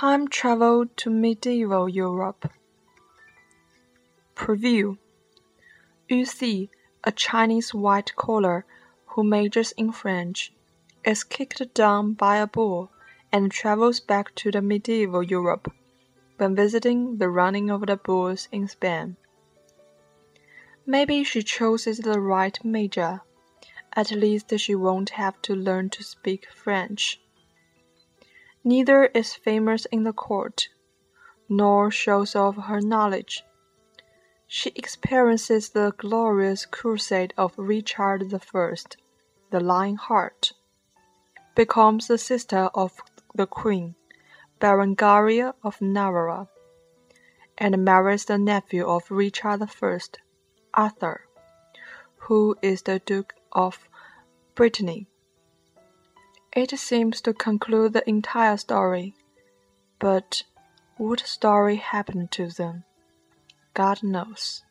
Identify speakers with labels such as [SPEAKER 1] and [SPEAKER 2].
[SPEAKER 1] Time travel to medieval Europe. Preview. Yu Xi, a Chinese white-collar who majors in French, is kicked down by a bull and travels back to the medieval Europe when visiting the running of the bulls in Spain. Maybe she chooses the right major. At least she won't have to learn to speak French. Neither is famous in the court, nor shows off her knowledge. She experiences the glorious crusade of Richard I, the Lionheart, becomes the sister of the Queen, Berengaria of Navarre, and marries the nephew of Richard I, Arthur, who is the Duke of Brittany. It seems to conclude the entire story, but what story happened to them? God knows.